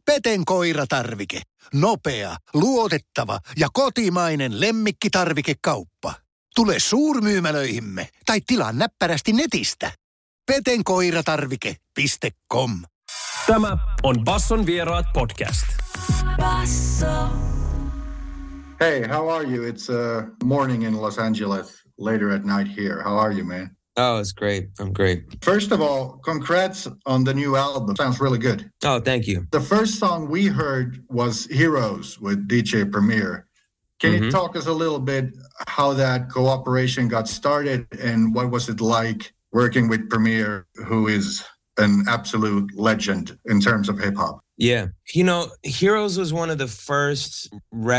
Peten koiratarvike. Nopea, luotettava ja kotimainen lemmikkitarvikekauppa. Tule suurmyymälöihimme tai tilaa näppärästi netistä. petenkoiratarvike.com. Tämä on Basson vieraat podcast. Basso. Hey, how are you? It's morning in Los Angeles, later at night here. How are you, man? Oh, it's great. I'm great. First of all, congrats on the new album. Sounds really good. Oh, thank you. The first song we heard was Heroes with DJ Premier. Can you talk us a little bit how that cooperation got started and what was it like working with Premier, who is an absolute legend in terms of hip-hop? Yeah. You know, Heroes was one of the first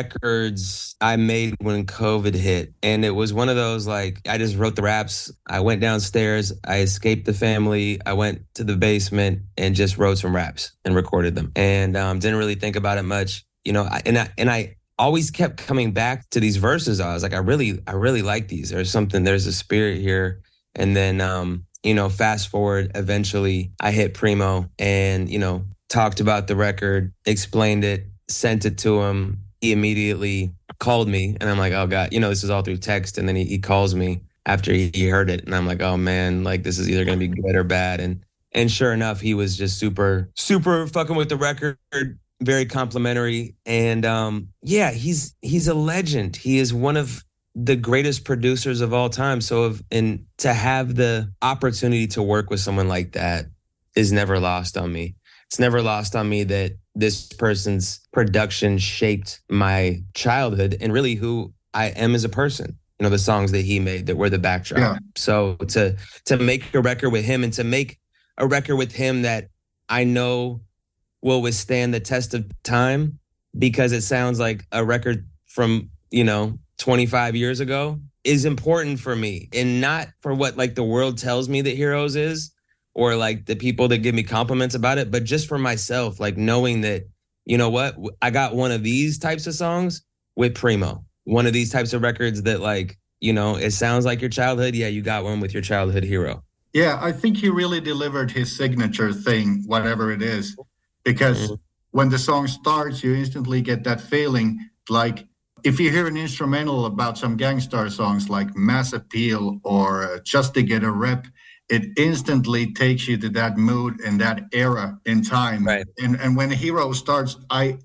records I made when COVID hit. And it was one of those, like, I just wrote the raps. I went downstairs. I escaped the family. I went to the basement and just wrote some raps and recorded them. And didn't really think about it much. You know, I always kept coming back to these verses. I was like, I really like these. There's a spirit here. And then, you know, fast forward, eventually I hit Primo and, you know, talked about the record, explained it, sent it to him. He immediately called me and I'm like, oh God, you know, this is all through text. And then he calls me after he heard it. And I'm like, oh man, like this is either going to be good or bad. And sure enough, he was just super, super fucking with the record, very complimentary. And yeah, he's a legend. He is one of the greatest producers of all time. And to have the opportunity to work with someone like that is never lost on me. It's never lost on me that this person's production shaped my childhood and really who I am as a person. You know, the songs that he made that were the backdrop. Yeah. So to make a record with him and to make a record with him that I know will withstand the test of time because it sounds like a record from, you know, 25 years ago is important for me, and not for what like the world tells me that Heroes is, or like the people that give me compliments about it, but just for myself, like knowing that, you know what, I got one of these types of songs with Primo, one of these types of records that like, you know, it sounds like your childhood. Yeah, you got one with your childhood hero. Yeah, I think he really delivered his signature thing, whatever it is, because when the song starts, you instantly get that feeling like if you hear an instrumental about some Gangstar songs like Mass Appeal or Just to Get a Rep, it instantly takes you to that mood and that era in time. Right. And when Hero starts, I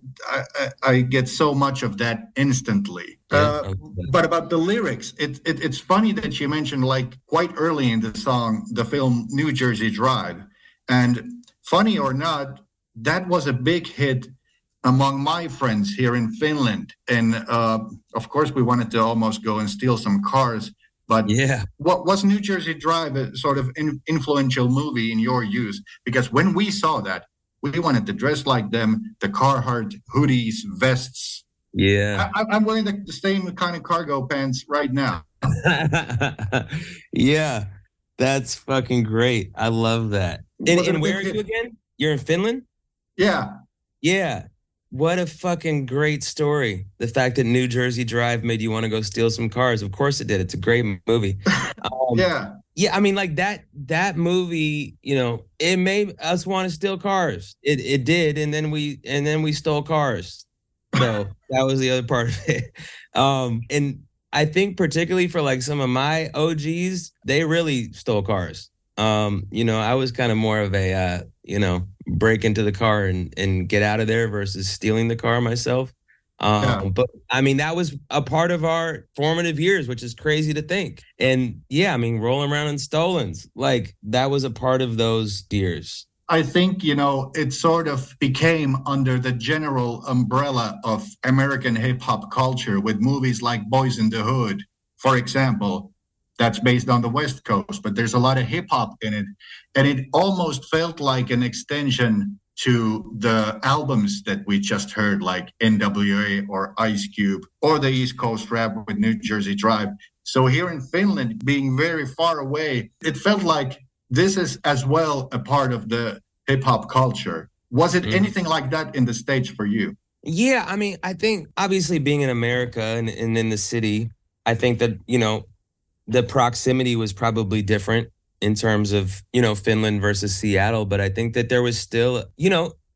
get so much of that instantly. But about the lyrics, it's funny that you mentioned like quite early in the song, the film New Jersey Drive. And funny or not, that was a big hit among my friends here in Finland. And of course, we wanted to almost go and steal some cars. But yeah, what was New Jersey Drive a sort of influential movie in your use? Because when we saw that, we wanted to dress like them, the Carhartt hoodies, vests. Yeah. I'm wearing the same kind of cargo pants right now. Yeah, that's fucking great. I love that. And where are you again? You're in Finland? Yeah. Yeah. What a fucking great story. The fact that New Jersey Drive made you want to go steal some cars. Of course it did. It's a great movie. Yeah. Yeah, I mean, like that movie, you know, it made us want to steal cars. It did, and then we stole cars. So that was the other part of it. And I think particularly for like some of my OGs, they really stole cars. You know, I was kind of more of a you know, break into the car and get out of there versus stealing the car myself. But I mean, that was a part of our formative years, which is crazy to think. And yeah, I mean, rolling around in Stolens, like that was a part of those years. I think, you know, it sort of became under the general umbrella of American hip hop culture with movies like Boys in the Hood, for example. That's based on the West Coast, but there's a lot of hip hop in it. And it almost felt like an extension to the albums that we just heard, like NWA or Ice Cube or the East Coast rap with New Jersey Drive. So here in Finland, being very far away, it felt like this is as well a part of the hip hop culture. Was it anything like that in the States for you? Yeah, I mean, I think obviously being in America and in the city, I think that, you know, the proximity was probably different in terms of, you know, Finland versus Seattle. But I think that there was still, you know,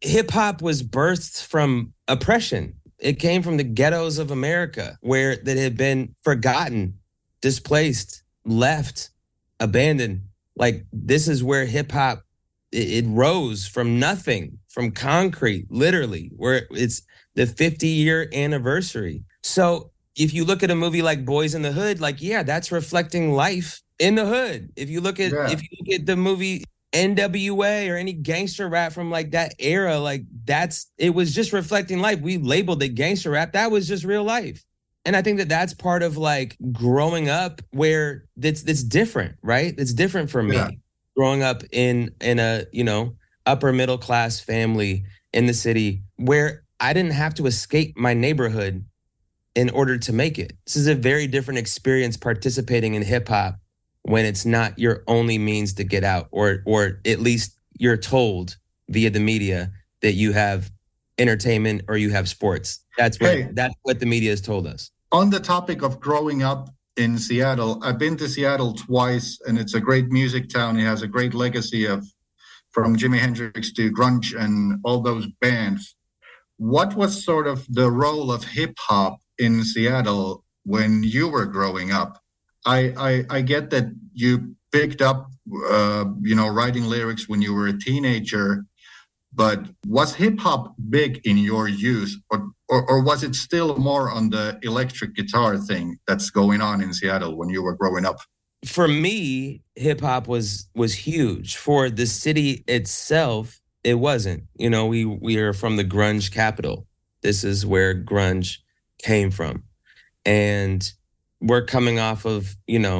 hip hop was birthed from oppression. It came from the ghettos of America, where that had been forgotten, displaced, left, abandoned. Like, this is where hip hop, it rose from nothing, from concrete, literally, where it's the 50-year anniversary. So if you look at a movie like Boys in the Hood, like, yeah, that's reflecting life in the hood. If you look at the movie NWA or any gangster rap from like that era, like it was just reflecting life. We labeled it gangster rap. That was just real life. And I think that that's part of like growing up where it's different, right? It's different for me. Growing up in a, upper middle class family in the city where I didn't have to escape my neighborhood in order to make it. This is a very different experience participating in hip hop when it's not your only means to get out, or at least you're told via the media that you have entertainment or you have sports. That's what the media has told us. On the topic of growing up in Seattle, I've been to Seattle twice, and it's a great music town. It has a great legacy from Jimi Hendrix to grunge and all those bands. What was sort of the role of hip hop in Seattle when you were growing up? I get that you picked up, writing lyrics when you were a teenager, but was hip hop big in your youth, or was it still more on the electric guitar thing that's going on in Seattle when you were growing up? For me, hip hop was huge. For the city itself, it wasn't. We are from the grunge capital. This is where grunge came from. And we're coming off of,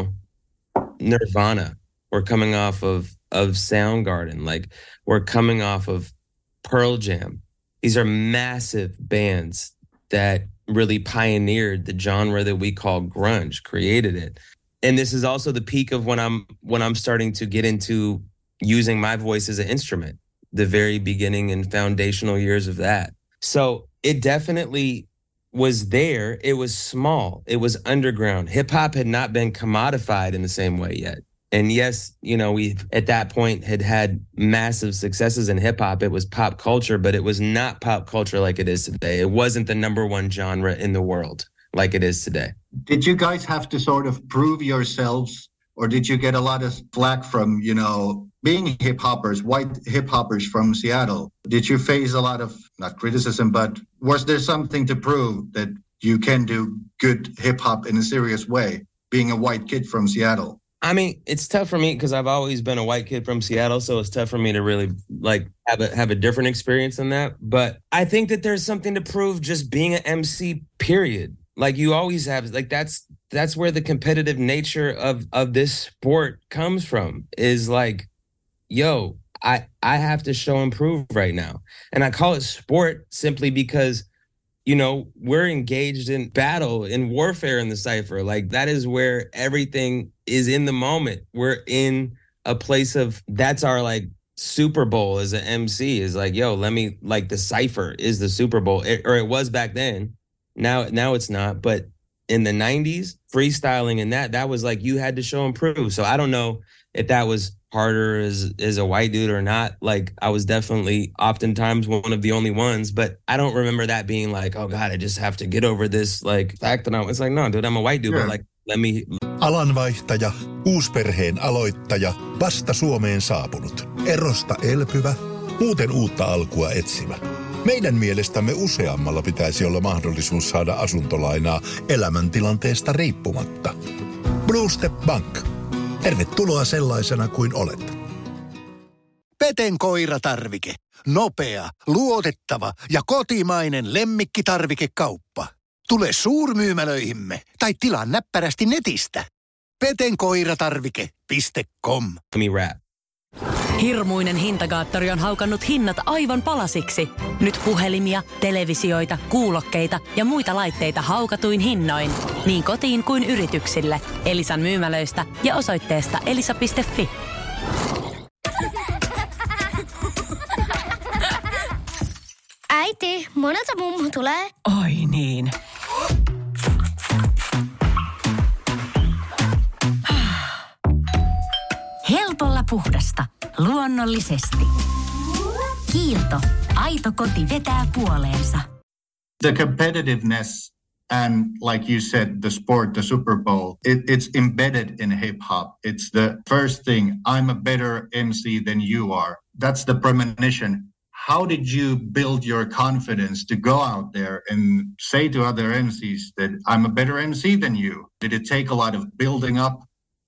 Nirvana. We're coming off of Soundgarden. Like, we're coming off of Pearl Jam. These are massive bands that really pioneered the genre that we call grunge, created it. And this is also the peak of when I'm starting to get into using my voice as an instrument, the very beginning and foundational years of that. So it definitely was there. It was small. It was underground. Hip hop had not been commodified in the same way yet. And yes, we at that point had massive successes in hip hop. It was pop culture, but it was not pop culture like it is today. It wasn't the number one genre in the world like it is today. Did you guys have to sort of prove yourselves, or did you get a lot of flack from, being hip hoppers, white hip hoppers from Seattle? Did you face a lot of, not criticism, but was there something to prove that you can do good hip hop in a serious way, being a white kid from Seattle? I mean, it's tough for me because I've always been a white kid from Seattle, so it's tough for me to really have a different experience than that. But I think that there's something to prove just being an MC, period. Like, you always have, like, that's where the competitive nature of this sport comes from, is like, yo, I have to show and prove right now. And I call it sport simply because, we're engaged in battle, in warfare in the Cypher. Like, that is where everything is in the moment. We're in a place of, that's our like Super Bowl as an MC, is like, yo, the Cypher is the Super Bowl, or it was back then. Now it's not. But in the 90s, freestyling and that was like, you had to show and prove. So I don't know if that was harder as a white dude or not. Like, I was definitely oftentimes one of the only ones, but I don't remember that being like, oh God, I just have to get over this like fact that it's like, no, dude, I'm a white dude, but like, let me. Alanvaihtaja, uusperheen aloittaja, vasta Suomeen saapunut, erosta elpyvä, muuten uutta alkua etsimä. Meidän mielestämme useammalla pitäisi olla mahdollisuus saada asuntolainaa elämäntilanteesta riippumatta. Blue Step Bank. Tervetuloa sellaisena kuin olet. Peten koiratarvike. Nopea, luotettava ja kotimainen lemmikkitarvikekauppa. Tule suurmyymälöihimme tai tilaa näppärästi netistä. petenkoiratarvike.com. Hirmuinen hintakaattori on haukannut hinnat aivan palasiksi. Nyt puhelimia, televisioita, kuulokkeita ja muita laitteita haukatuin hinnoin. Niin kotiin kuin yrityksille. Elisan myymälöistä ja osoitteesta elisa.fi. Äiti, monelta mummu tulee? Oi niin. Helpolla puhdasta. Luonnollisesti. Kiilto. Aito koti vetää puoleensa. The competitiveness and, like you said, the sport, the Super Bowl, it's embedded in hip-hop. It's the first thing. I'm a better MC than you are. That's the premonition. How did you build your confidence to go out there and say to other MCs that I'm a better MC than you? Did it take a lot of building up,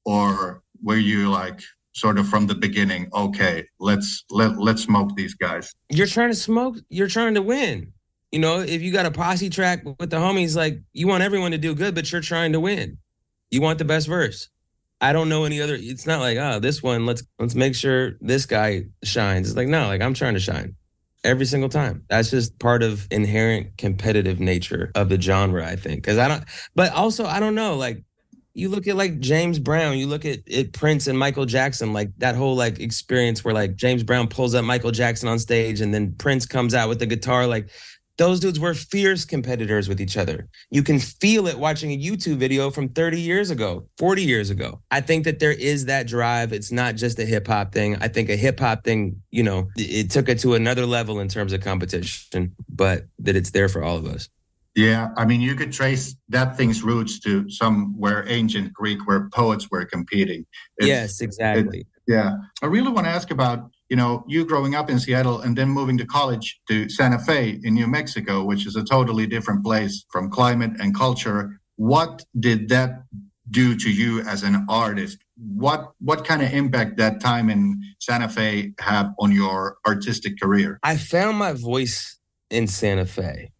or were you like sort of from the beginning, okay, let's smoke these guys? You're trying to smoke, you're trying to win. You know, if you got a posse track with the homies, like, you want everyone to do good, but you're trying to win. You want the best verse. I don't know any other. It's not like, oh, this one, let's make sure this guy shines. It's like, no, like, I'm trying to shine every single time. That's just part of inherent competitive nature of the genre, I think. But also, I don't know, like, you look at like James Brown, you look at Prince and Michael Jackson, like that whole like experience where like James Brown pulls up Michael Jackson on stage and then Prince comes out with the guitar. Like, those dudes were fierce competitors with each other. You can feel it watching a YouTube video from 30 years ago, 40 years ago. I think that there is that drive. It's not just a hip hop thing. I think a hip hop thing, you know, it took it to another level in terms of competition, but that it's there for all of us. Yeah, I mean, you could trace that thing's roots to somewhere ancient Greek where poets were competing. Yes, exactly. Yeah. I really want to ask about, you know, you growing up in Seattle and then moving to college to Santa Fe in New Mexico, which is a totally different place from climate and culture. What did that do to you as an artist? What kind of impact that time in Santa Fe have on your artistic career? I found my voice in Santa Fe,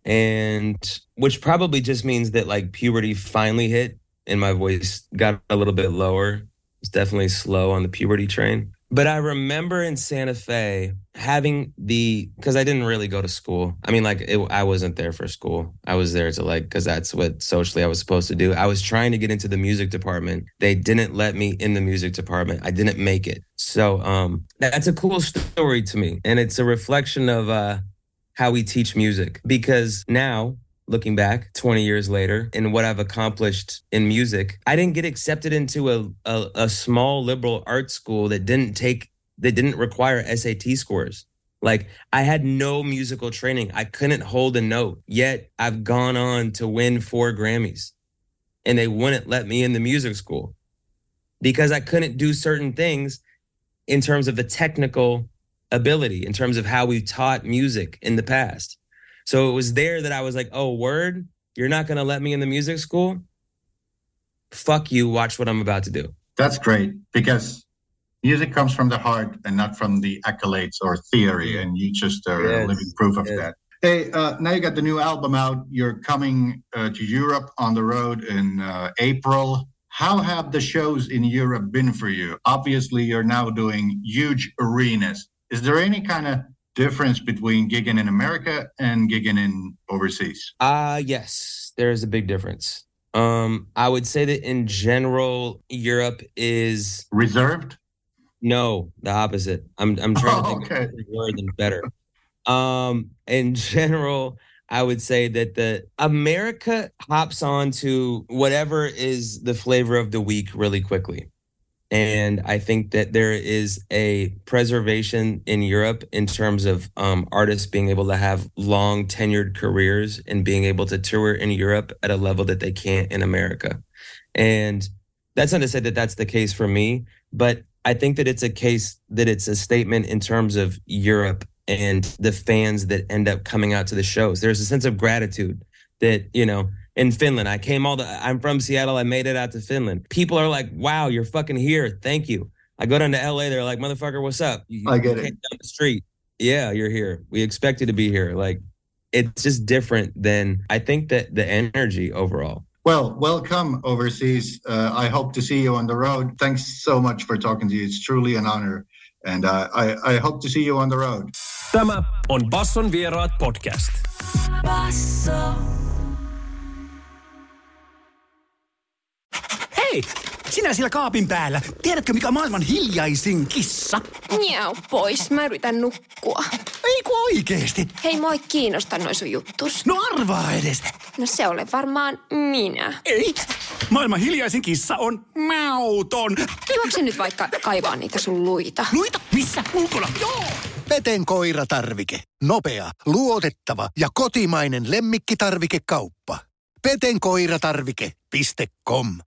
and which probably just means that like puberty finally hit and my voice got a little bit lower. It's definitely slow on the puberty train. But I remember in Santa Fe having because I didn't really go to school. I mean, like, I wasn't there for school. I was there to like, because that's what socially I was supposed to do. I was trying to get into the music department. They didn't let me in the music department. I didn't make it. So that's a cool story to me. And it's a reflection of how we teach music. Because now, looking back 20 years later and what I've accomplished in music, I didn't get accepted into a small liberal arts school that didn't require SAT scores. Like, I had no musical training. I couldn't hold a note, yet I've gone on to win 4 Grammys. And they wouldn't let me in the music school because I couldn't do certain things in terms of the technical ability, in terms of how we taught music in the past. So it was there that I was like, oh, word, you're not going to let me in the music school? Fuck you, watch what I'm about to do. That's great, because music comes from the heart and not from the accolades or theory, and you just are living proof of that. Hey, now you got the new album out. You're coming to Europe on the road in April. How have the shows in Europe been for you? Obviously, you're now doing huge arenas. Is there any kind of difference between gigging in America and gigging in overseas? Yes, there's a big difference. I would say that in general, Europe is reserved. No, the opposite. I'm trying to think of a word than better. In general, I would say that the America hops on to whatever is the flavor of the week really quickly. And I think that there is a preservation in Europe in terms of artists being able to have long tenured careers and being able to tour in Europe at a level that they can't in America. And that's not to say that that's the case for me, but I think that it's a case that it's a statement in terms of Europe and the fans that end up coming out to the shows. There's a sense of gratitude that, you know, in Finland, I'm from Seattle. I made it out to Finland. People are like, wow, you're fucking here. Thank you. I go down to LA. They're like, motherfucker, what's up? I get it. Down the street. Yeah, you're here. We expect you to be here. Like, it's just different than, I think, that the energy overall. Well, welcome overseas. I hope to see you on the road. Thanks so much for talking to you. It's truly an honor. And I hope to see you on the road. Tämä on Basson Vieraat podcast. Basso. Hei, sinä siellä kaapin päällä. Tiedätkö, mikä on maailman hiljaisin kissa? Miau pois, mä yritän nukkua. Eiku oikeesti? Hei, moi kiinnosta noi sun juttus. No arvaa edes. No se ole varmaan minä. Ei, maailman hiljaisin kissa on mauton. Juokse nyt vaikka kaivaa niitä sun luita. Luita? Missä? Ulkona? Joo! Peten koiratarvike. Nopea, luotettava ja kotimainen lemmikkitarvikekauppa. petenkoiratarvike.com